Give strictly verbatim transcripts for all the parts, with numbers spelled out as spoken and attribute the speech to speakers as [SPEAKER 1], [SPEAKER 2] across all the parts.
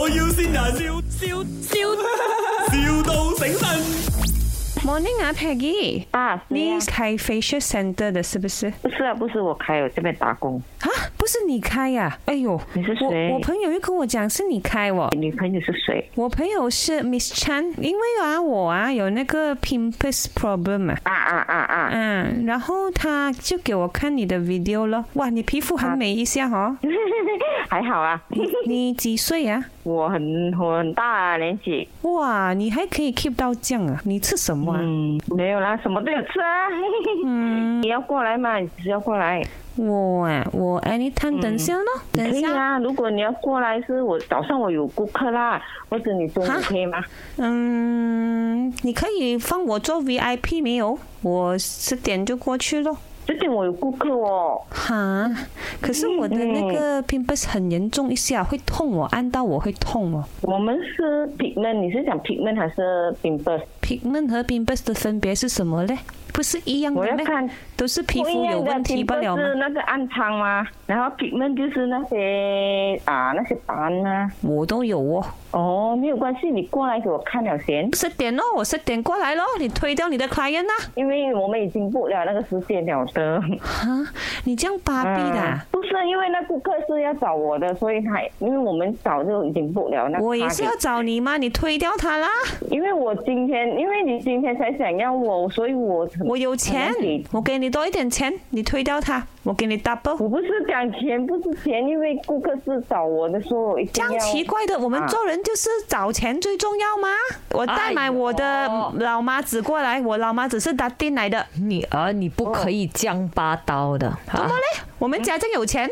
[SPEAKER 1] 要先人，笑笑笑，,笑到醒神。
[SPEAKER 2] Morning 啊 ，Peggy
[SPEAKER 3] 啊，
[SPEAKER 2] 你开 facial center 的是不是？
[SPEAKER 3] 不是啊，不是我开，我这边打工。
[SPEAKER 2] 啊，不是你开呀、啊？哎呦，
[SPEAKER 3] 你是谁？
[SPEAKER 2] 我我朋友又跟我讲是你开哦。
[SPEAKER 3] 你女朋友是谁？
[SPEAKER 2] 我朋友是 Miss Chan， 因为啊我啊有那个 pimples problem 啊。
[SPEAKER 3] 啊啊啊啊！
[SPEAKER 2] 嗯，然后他就给我看你的 video 了。哇，你皮肤很美一下哦。
[SPEAKER 3] 还好啊。
[SPEAKER 2] 你几岁啊？
[SPEAKER 3] 我很我很大啊，年纪。
[SPEAKER 2] 哇，你还可以 keep 到这样啊？你吃什么啊？
[SPEAKER 3] 嗯，没有啦，什么都有吃啊。嗯，你要过来吗？你只是要过来。
[SPEAKER 2] 我啊，我 anytime 等下咯，等
[SPEAKER 3] 可以
[SPEAKER 2] 下。
[SPEAKER 3] 啊，如果你要过来，是我早上我有顾客啦，或者你中午可以吗？
[SPEAKER 2] 嗯，你可以放我做 V I P 没有？我十点就过去咯。
[SPEAKER 3] 这点我有顾客哦。
[SPEAKER 2] 哈，可是我的那个 pimples 很严重一下，会痛哦，按到我会痛哦。
[SPEAKER 3] 我们是 pigment， 你是讲 pigment 还是 pimples？pigment
[SPEAKER 2] 和 pimples 的分别是什么嘞？不是一样的咩？
[SPEAKER 3] 我要看，
[SPEAKER 2] 都是皮肤有问题不了吗？
[SPEAKER 3] 是那个暗疮吗？然后 pigment 就是那些啊那些斑啊。
[SPEAKER 2] 我都有哦。
[SPEAKER 3] 哦，没有关系，你过来给我看了先。
[SPEAKER 2] 十点咯，我十点过来咯，你推掉你的 client 啦。
[SPEAKER 3] 因为我们已经 book 了那个时间了的。
[SPEAKER 2] 哈，你这样巴闭的、啊
[SPEAKER 3] 嗯？不是，因为那顾客是要找我的，所以他因为我们早就已经 book 了那。
[SPEAKER 2] 我也是要找你吗？你推掉他啦。
[SPEAKER 3] 因为我今天，因为你今天才想要我，所以我
[SPEAKER 2] 我有钱，我给你多一点钱，你推掉他，我给你 double。
[SPEAKER 3] 我不是讲钱，不是钱，因为顾客是找我的，说我一定要。
[SPEAKER 2] 这样奇怪的，我们做人就是找钱最重要吗？我带买我的老妈子过来，我老妈子是打丁来的。
[SPEAKER 4] 女儿，你不可以这样霸道的。
[SPEAKER 2] 怎么嘞？我们家真有钱。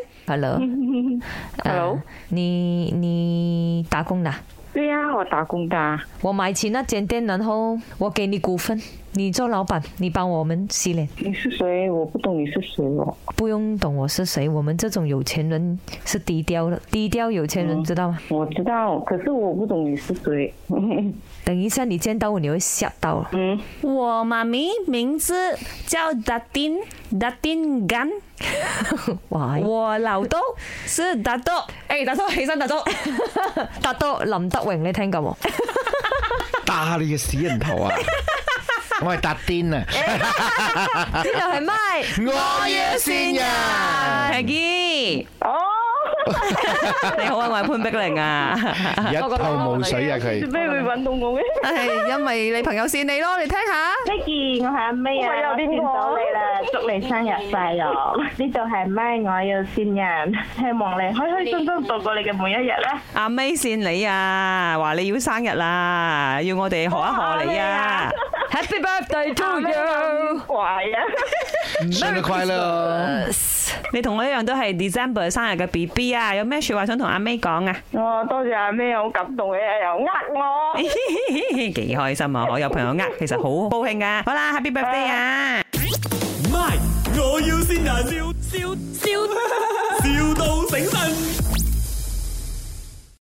[SPEAKER 4] Hello，Hello，、呃、你你打工的？
[SPEAKER 3] 对呀、啊，我打工的。
[SPEAKER 4] 我买起那间店，然后我给你股份，你做老板，你帮我们洗脸。
[SPEAKER 3] 你是谁？我不懂你是谁哦。
[SPEAKER 4] 不用懂我是谁，我们这种有钱人是低调的，低调有钱人、嗯、知道吗？
[SPEAKER 3] 我知道，可是我不懂你是谁。
[SPEAKER 4] 等一下你见到我，你会吓到。
[SPEAKER 2] 嗯，我妈咪名字叫 Datin Datin Gan。我老豆是大豆，誒大豆起身，大豆，
[SPEAKER 4] 大豆林德榮，你聽過冇？
[SPEAKER 5] 打你個死人頭啊！我係達癲啊！
[SPEAKER 4] 呢度係咪？
[SPEAKER 5] 我要線人
[SPEAKER 2] Peggy。哦。
[SPEAKER 4] 你
[SPEAKER 2] 好啊，我係潘碧玲啊，
[SPEAKER 5] 一頭霧水啊佢。
[SPEAKER 3] 做咩會揾到我嘅？
[SPEAKER 2] 係因為你朋友線你咯，你聽下。
[SPEAKER 6] Peggy，我係阿 May 啊，我見到你啦，祝你生日快樂！呢度係咪我要線人，希望你開開心心度過你嘅每一日啦。
[SPEAKER 2] 阿 May 線你啊，話你要生日啦，要我哋賀一賀你啊 ！Happy birthday to you！
[SPEAKER 3] 乖啊！
[SPEAKER 5] 生日快樂！
[SPEAKER 2] 你同我一樣都係 December 生日嘅 B B 啊，有咩說話想同阿 May 講啊？
[SPEAKER 3] 哦，多謝阿 May，好感動嘅，又呃我，
[SPEAKER 2] 幾開心啊！我有朋友呃，其實好高興噶。好啦 ，Happy birthday 啊
[SPEAKER 1] ！My， 我要先人，笑笑笑，,笑到醒神。